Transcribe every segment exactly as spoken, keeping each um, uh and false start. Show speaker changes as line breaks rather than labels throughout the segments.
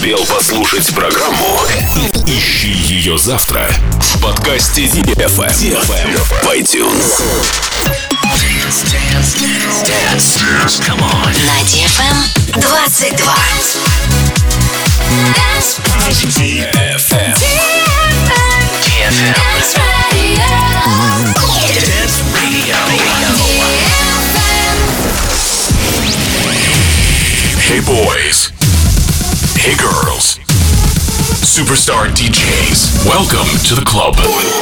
успел послушать программу, ищи ее завтра в подкасте ди эф эм в iTunes.
Dance, dance, dance, dance, come on. На ди эф эм двадцать два. ди эф эм. ди эф эм. Dance Radio. Dance Radio.
Hey boys. Hey girls. Superstar ди джейс. Welcome to the club.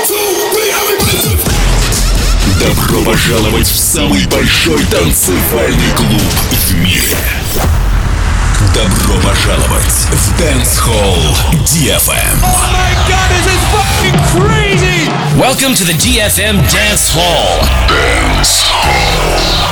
Добро пожаловать в самый большой танцевальный клуб в мире. Добро пожаловать в Dance Hall ди эф эм.
Oh my God, this is fucking crazy!
Welcome to the ди эф эм Dance Hall.
Dance Hall.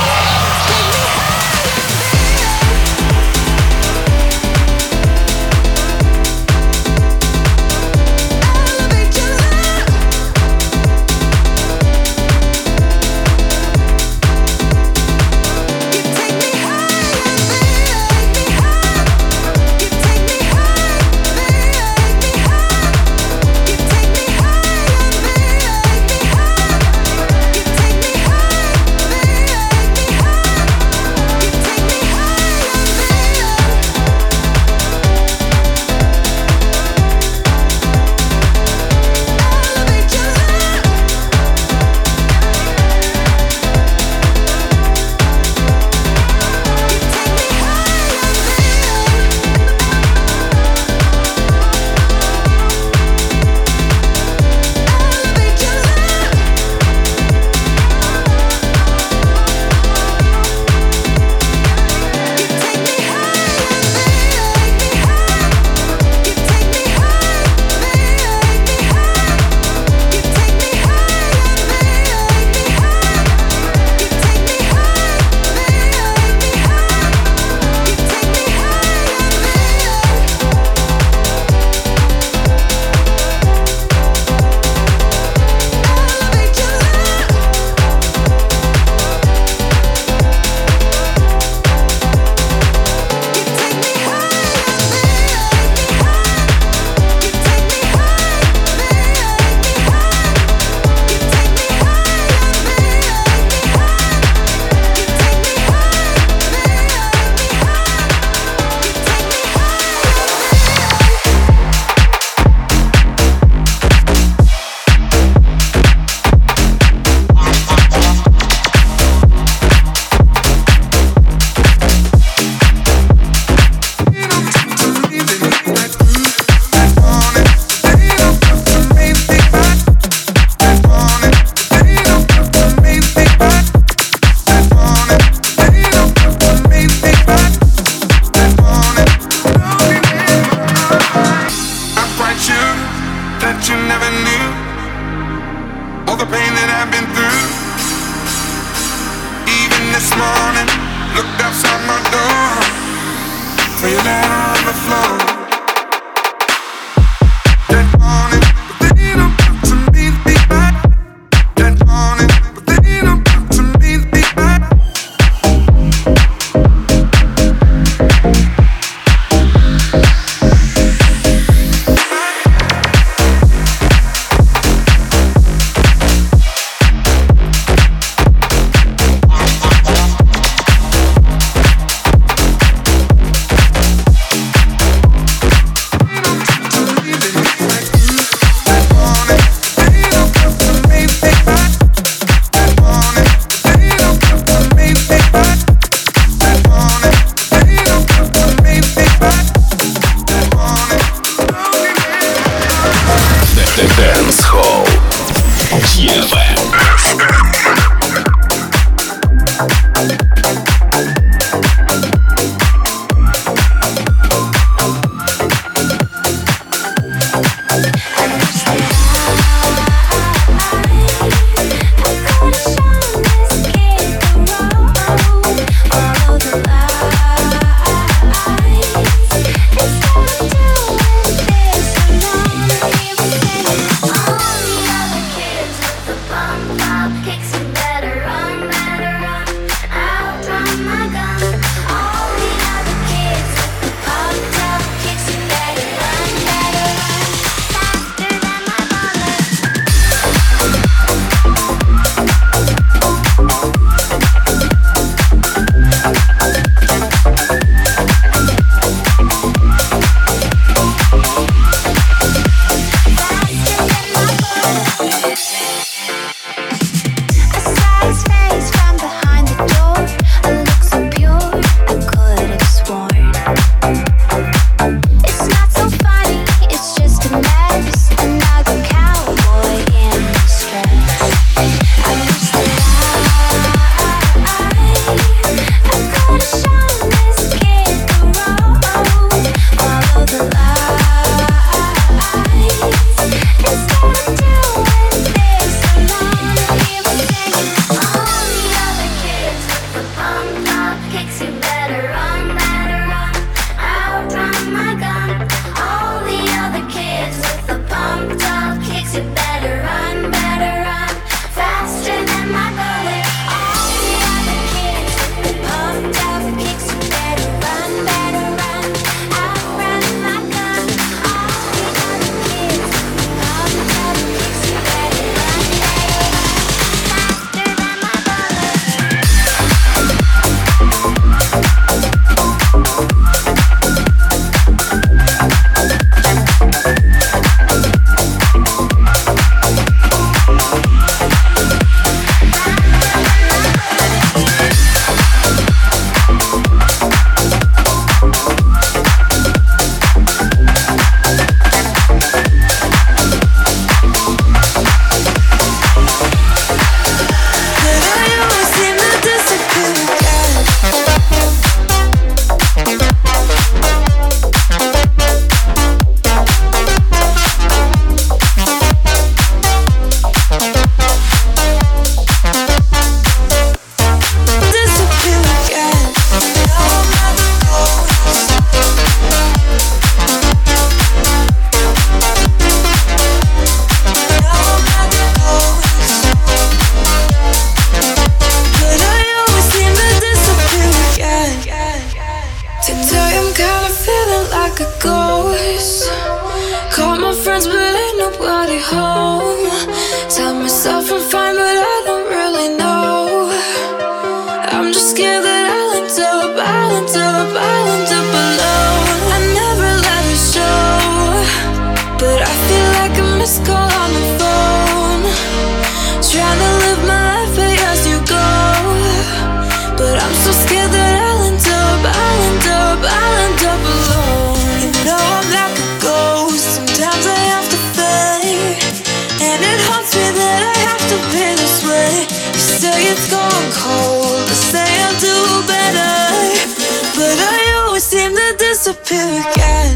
like a ghost. Call my friends, but ain't nobody home. Tell myself I'm fine, but I don't really know. I'm just scared that I'll end up, I'll end up, I'll end up alone. I never let it show, but I feel like a missed call on the phone. Trying to live my life as you go, but I'm so scared that I'll end up, I'll end up, I'll end up alone. You know I'm like a ghost, sometimes I have to fade, and it haunts me that I have to be this way. You say it's gone cold, I say I'll do better, but I always seem to disappear again.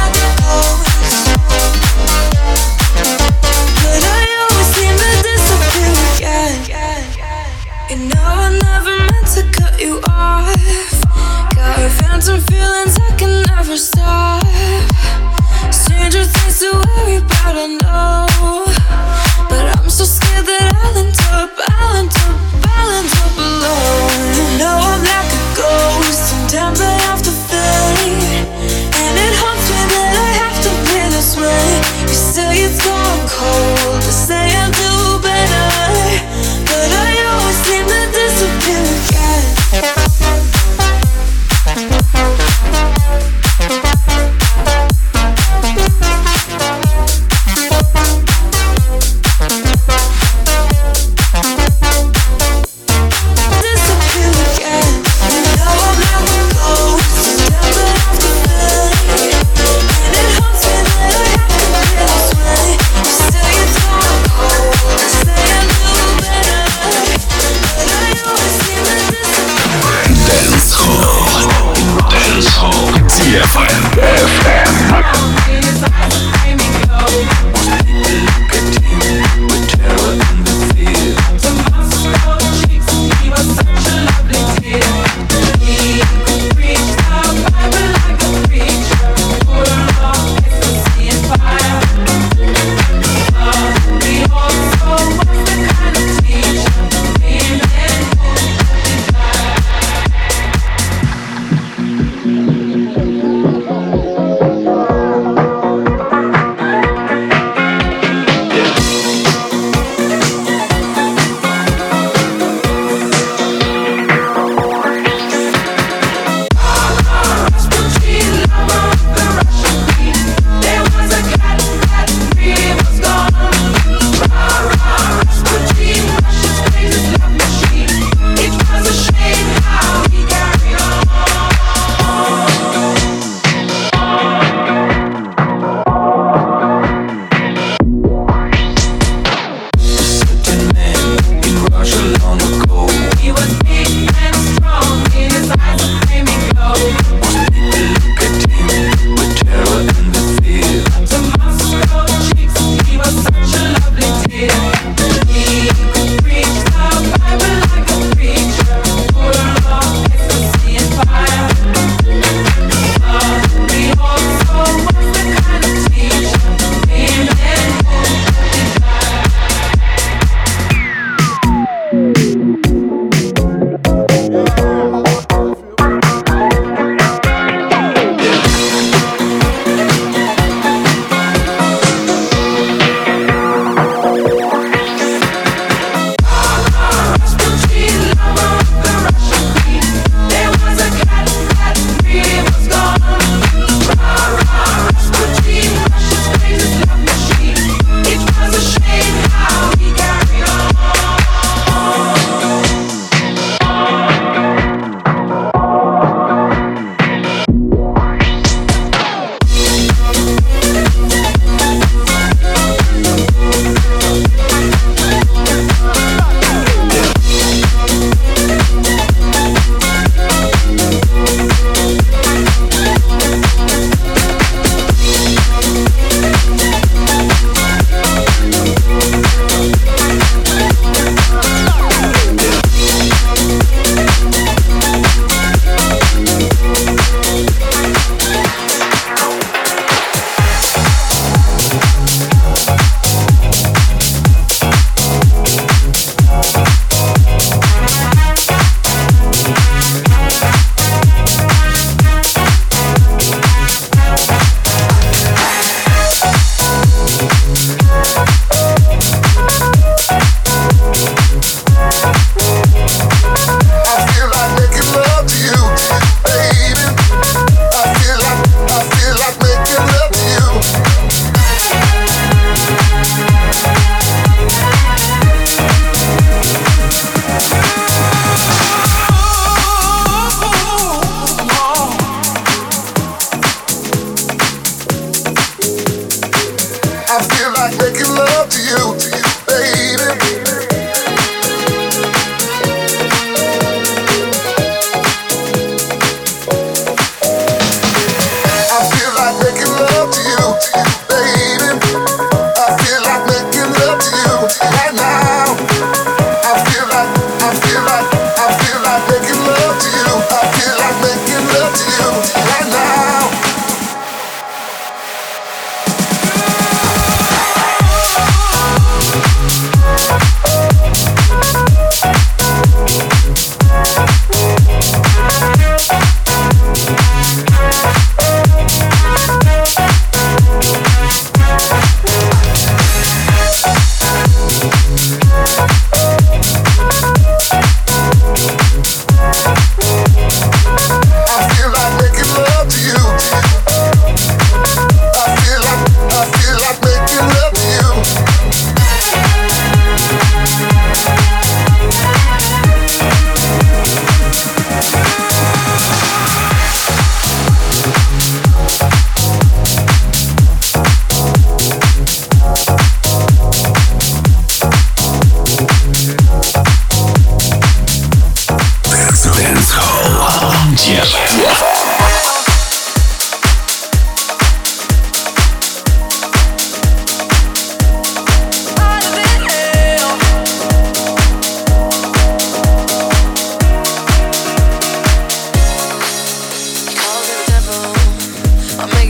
Disappear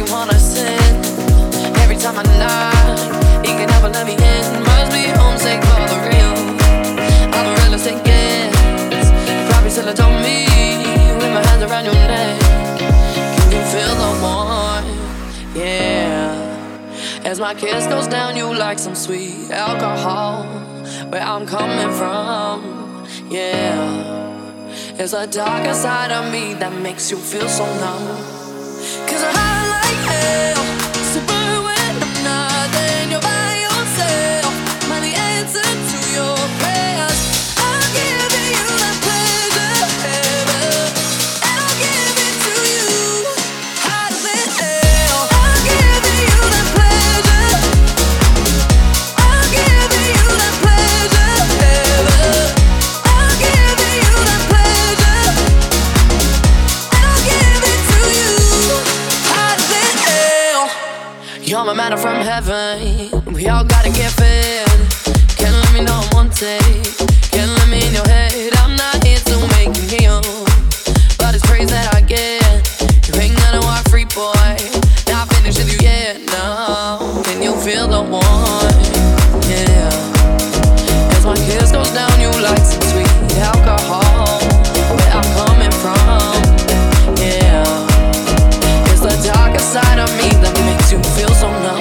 wanna sin. Every time I knock, he can never let me in. Must be homesick for the real. All the realistic gets probably still adore me with my hands around your neck. Can you feel the warmth? Yeah. As my kiss goes down, you like some sweet alcohol. Where I'm coming from, yeah. There's a darker side of me that makes you feel so numb. Cause I'm high like hell, super when I'm not. Then you're by yourself, am I the answer to your prayers? I'll give you that pleasure, baby, and I'll give it to you hotter than hell. I'll give you that pleasure, I'll give you that pleasure, baby, I'll give you that pleasure, and I'll give it to you hotter than hell. You're my manna from heaven, we all gotta get fed. Can't let me know I'm one take, can't let me in your head. I'm not here to make you kneel, but it's praise that I get. You ain't gonna walk free, boy, not finished with you yet, no. Can you feel the warmth? Yeah. As my kiss goes down, you like some sweet alcohol. Where I'm coming from, yeah. It's the darker side of me that makes you feel so numb.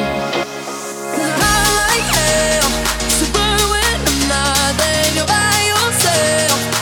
High like hell, super when I'm not. Then you're by yourself,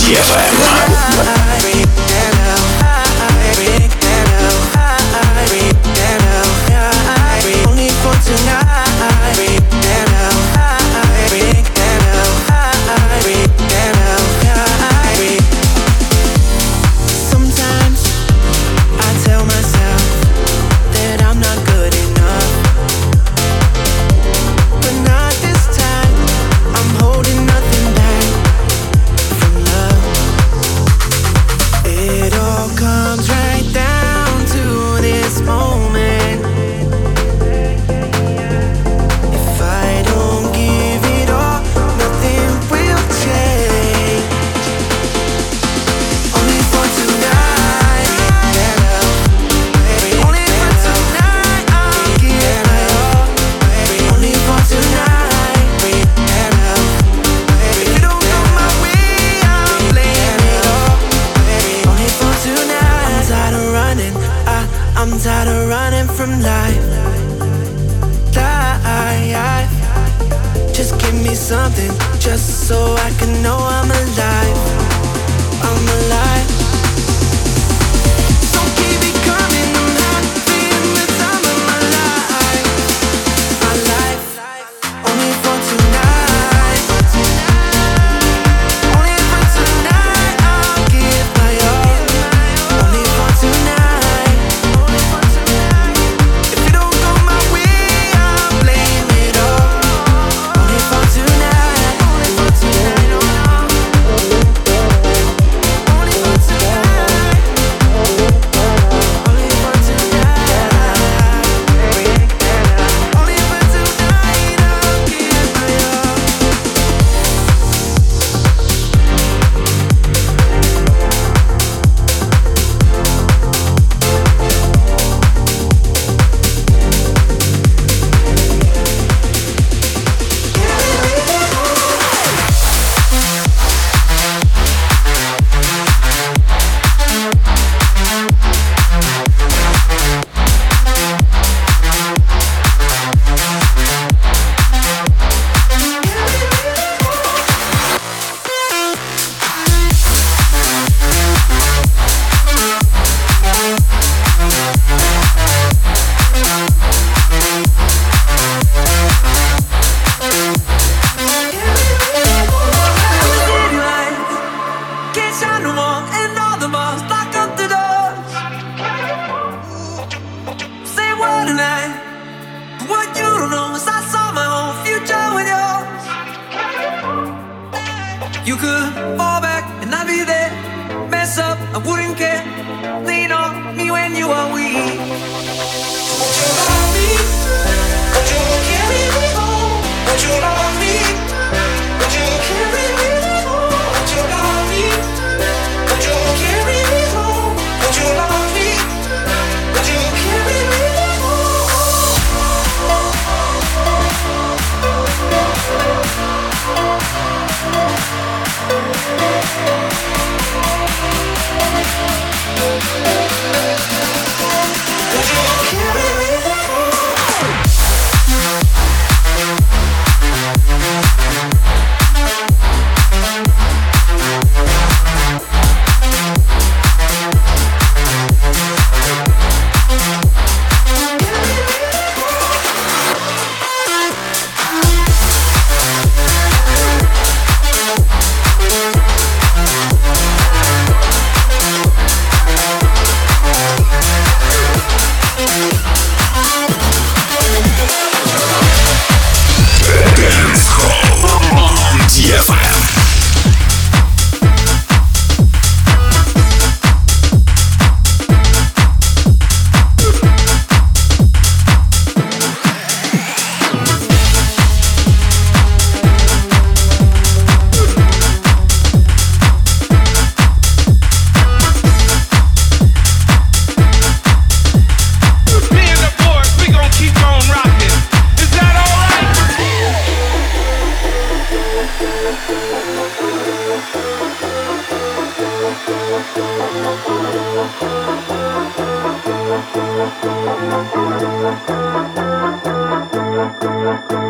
ди эф эм.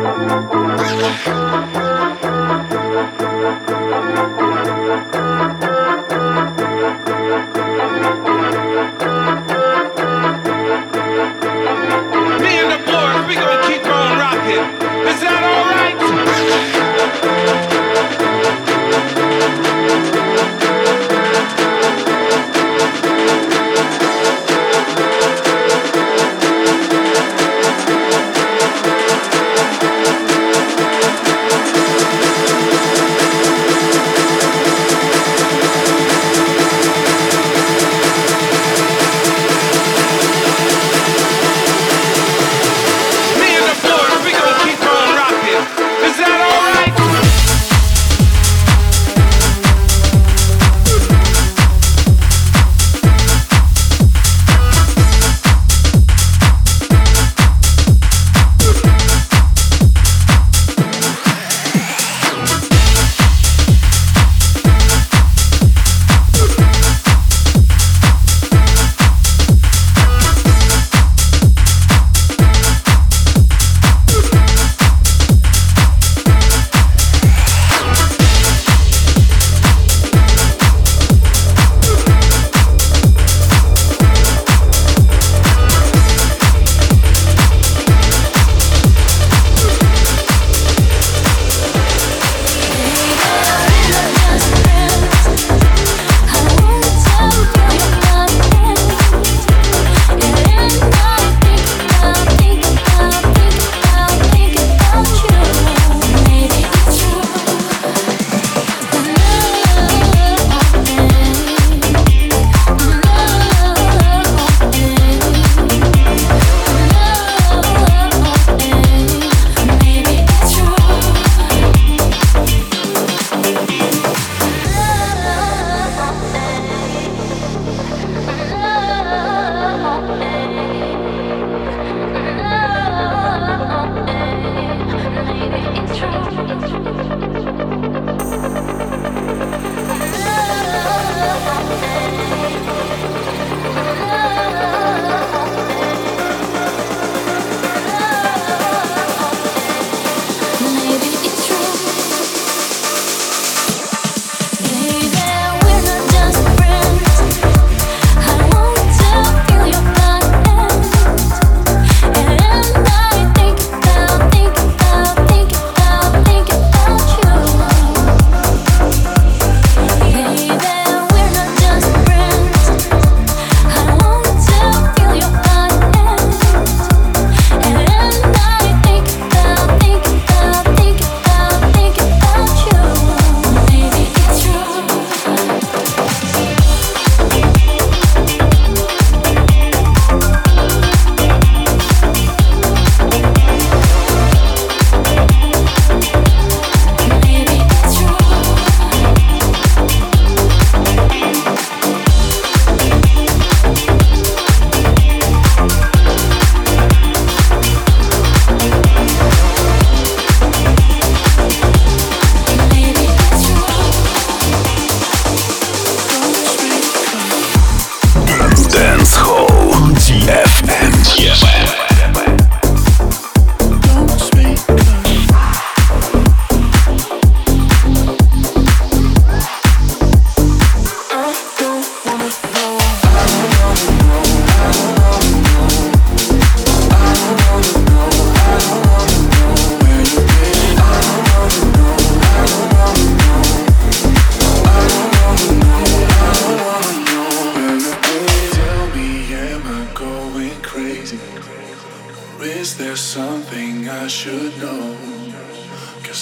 We'll be right back.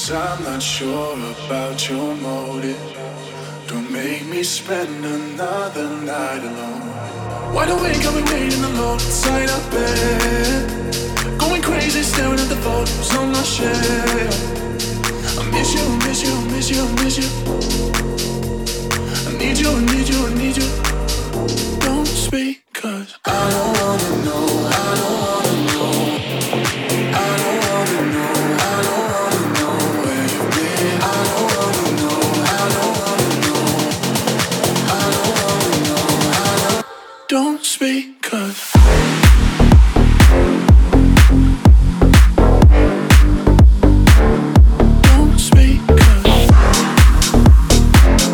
'cause I'm not sure about your motive. Don't make me spend another night alone. Wide awake, I've been waiting alone inside our bed, going crazy, staring at the photos on my shelf. I miss you, miss you, miss you, miss you. I need you, I need you, I need you. Don't speak, 'cause I don't wanna know, I don't wanna know. I don't wanna know, I don't wanna know where you've been. I don't wanna know, I don't wanna know. I don't wanna know, I don't. Don't speak, 'cause don't speak, 'cause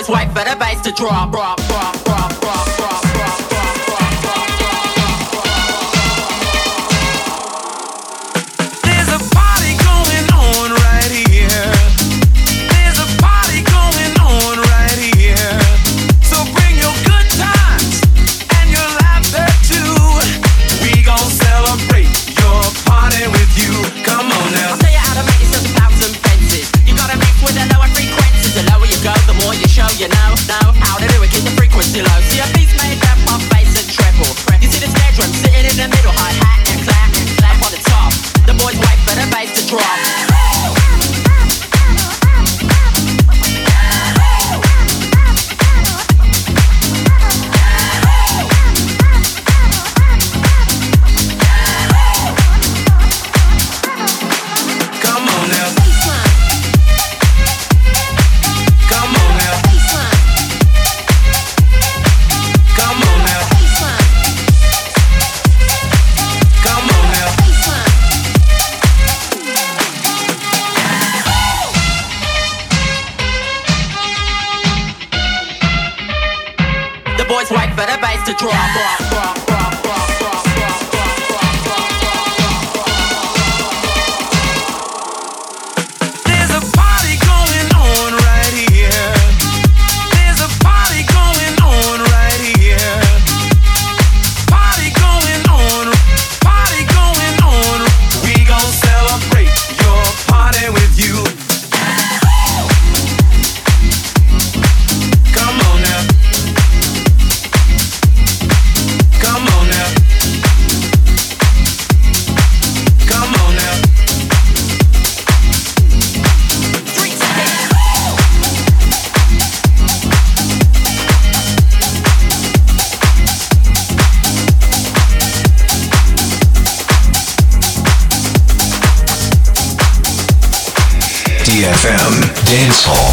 boys wait for the bass to drop, drop, drop, drop, drop, drop, drop, drop, drop, drop, drop. There's a party going on right here. There's a party going on right here. So bring your good times and your laughter too. We gon' celebrate your party with you. Come on now. I'll tell you how to make yourself a thousand fences. You gotta mix with the lower frequencies. The lower you go, the more you show. You know, know how to do it. Keep the frequency low. See a beat's made up of bass and treble. You see the snare drum sitting in the middle, hi hat and clap and clap on the top. The boys wait for the bass to drop. Wait for the bass to drop, drop, drop, drop, drop, drop, drop, drop, drop, drop, drop. There's a party going on right here. There's a party going on right here. Party going on, party going on. We gon' celebrate your party with you. Come on now. Come on now. Come on now. Streets ahead.
D F M Dance Hall.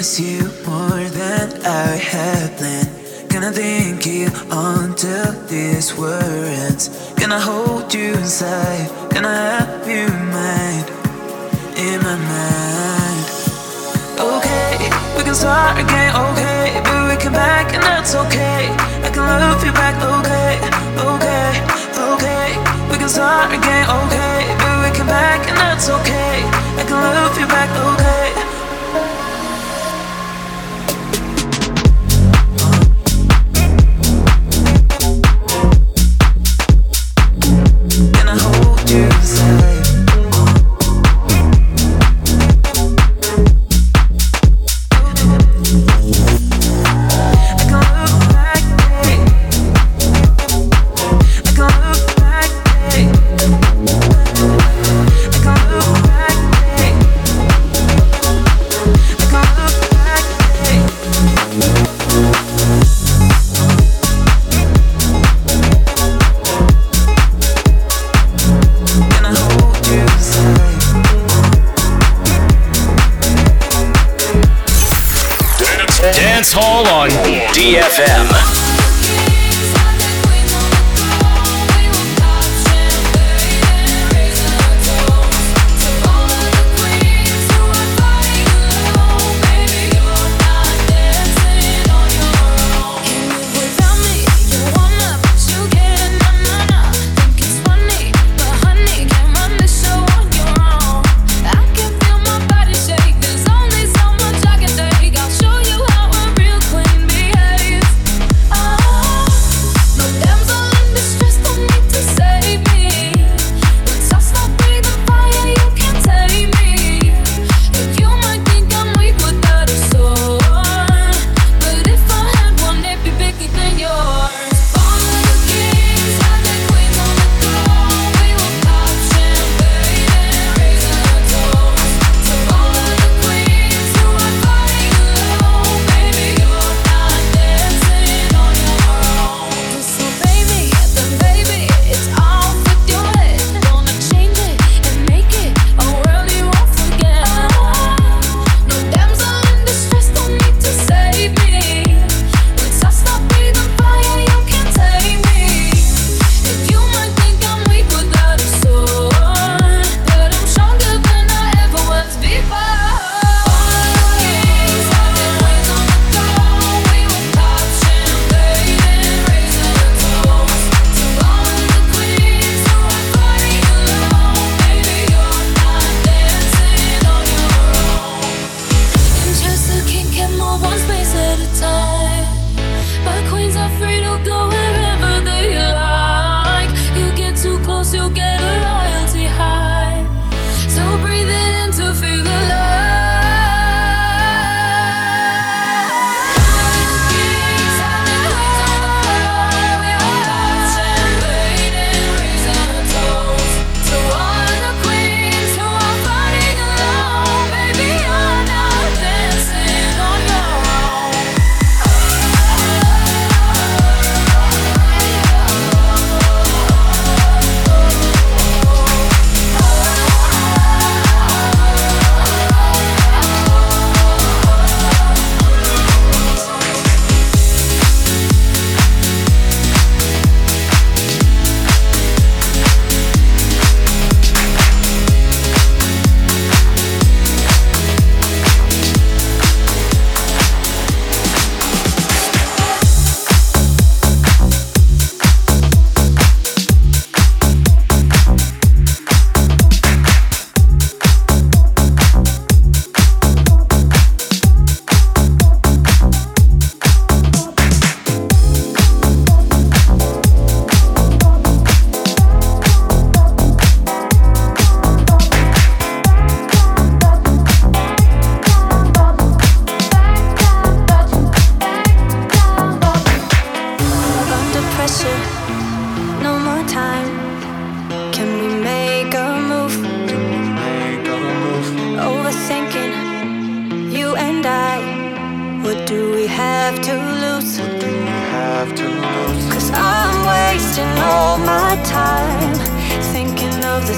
miss you more than I had planned. Gonna think you until this world ends. Gonna hold you inside, gonna have you in mind, in my mind. Okay, we can start again, okay, but we come back and that's okay. I can love you back, okay, okay, okay. We can start again, okay, but we come back and that's okay. I can love you back, okay.
Dance Hall on D F M.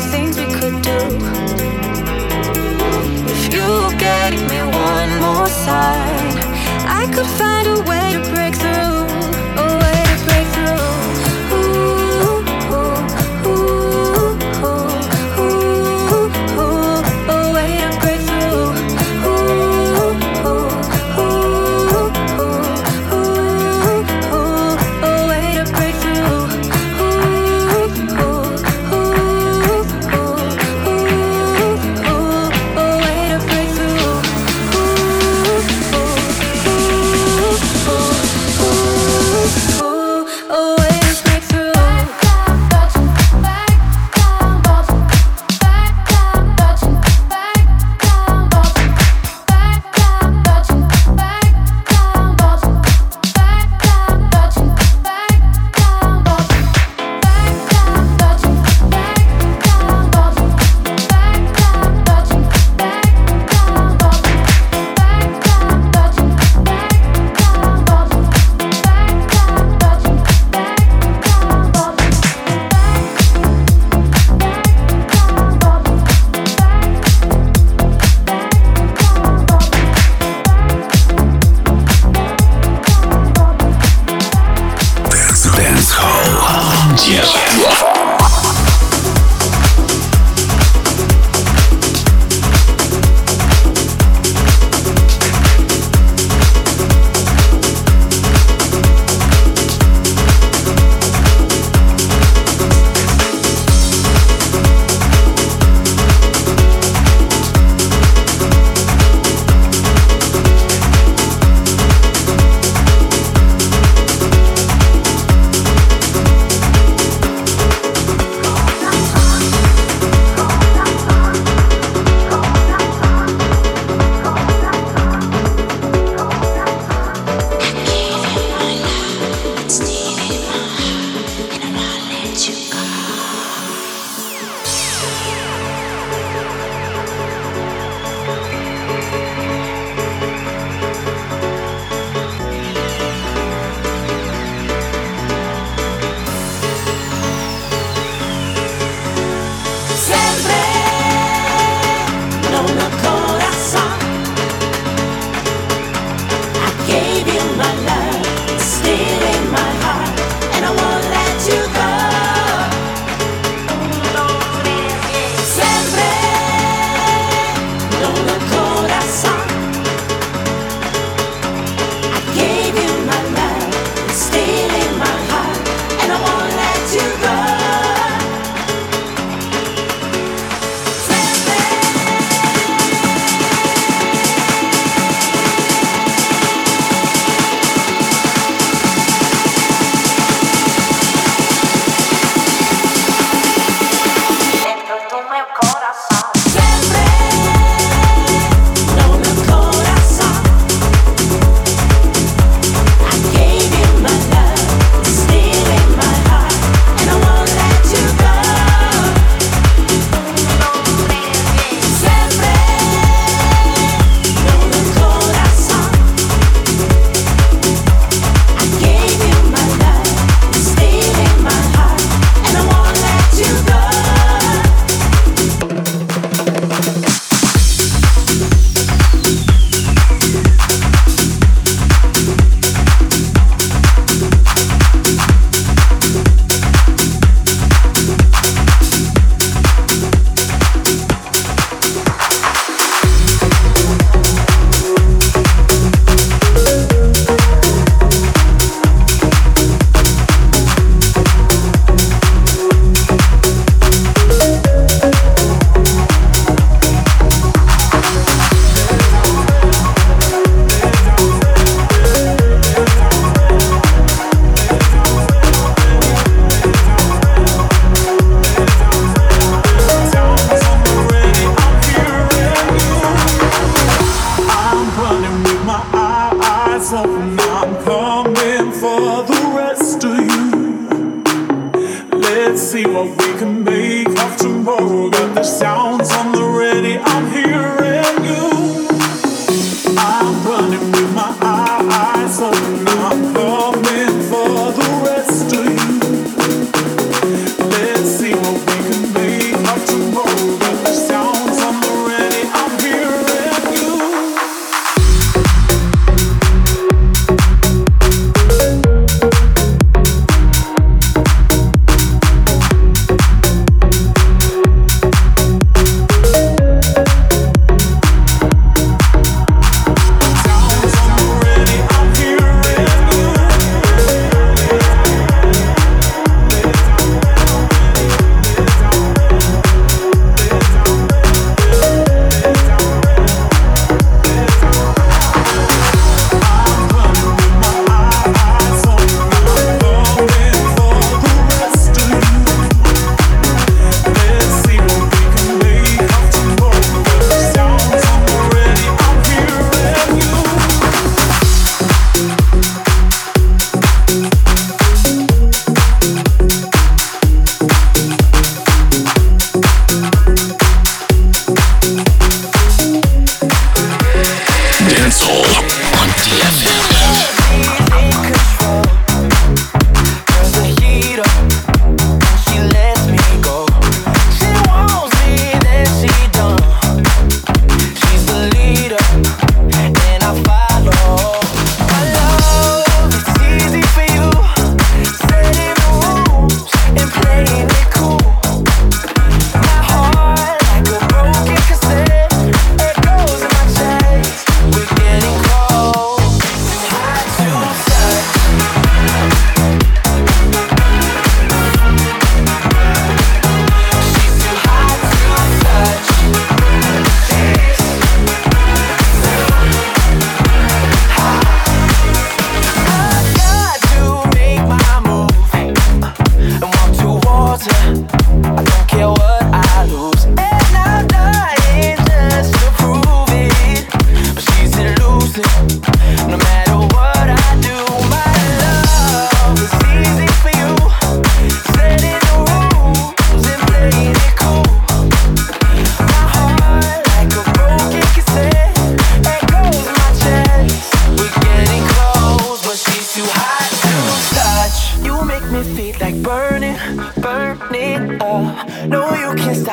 If you gave me one more sign heart. I could find a way to break through, a way to break through. Ooh, ooh, ooh, ooh, ooh, ooh, a way to break through. Ooh, ooh, ooh, ooh, ooh, ooh, a way to break through. Ooh, ooh, ooh, ooh, ooh, a way to break through.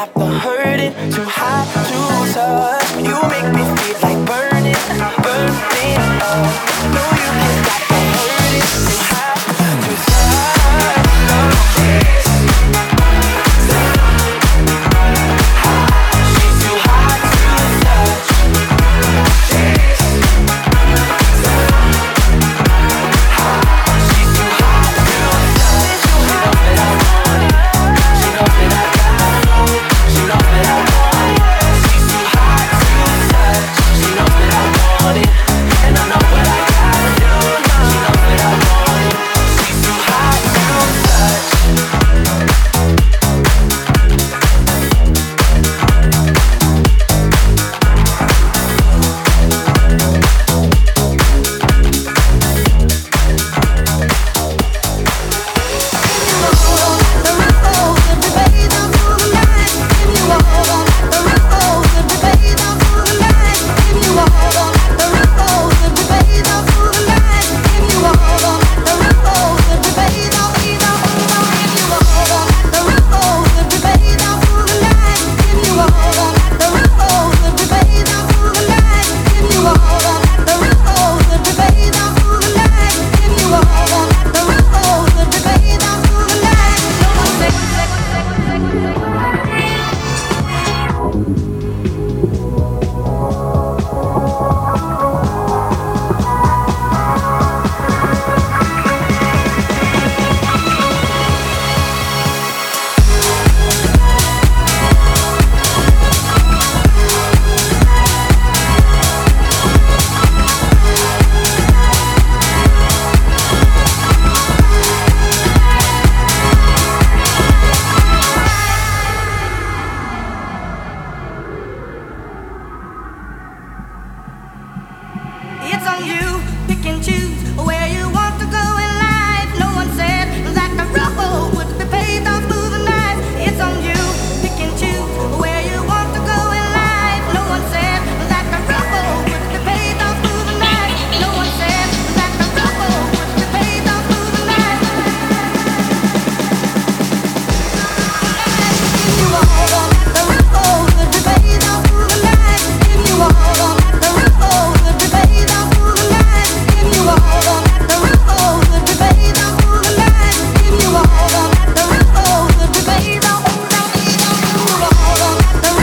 stop the hurting, too hot to touch.